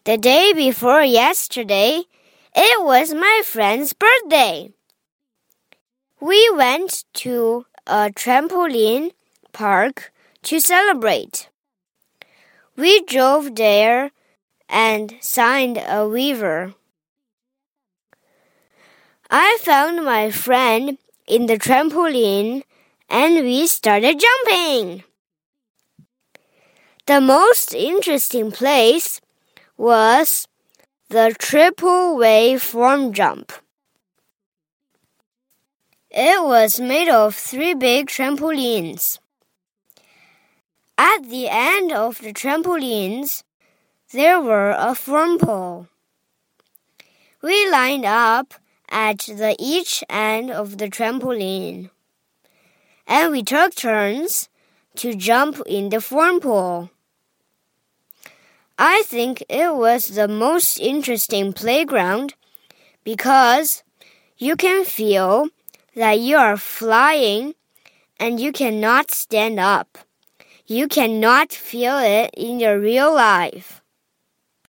The day before yesterday, it was my friend's birthday. We went to a trampoline park to celebrate. We drove there and signed a waiver. I found my friend in the trampoline and we started jumping. The most interesting place was the triple wave form jump. It was made of 3 big trampolines. At the end of the trampolines, there were a form pole. We lined up at each end of the trampoline, and we took turns to jump in the form pole. I think it was the most interesting playground because you can feel that you are flying and you cannot stand up. You cannot feel it in your real life.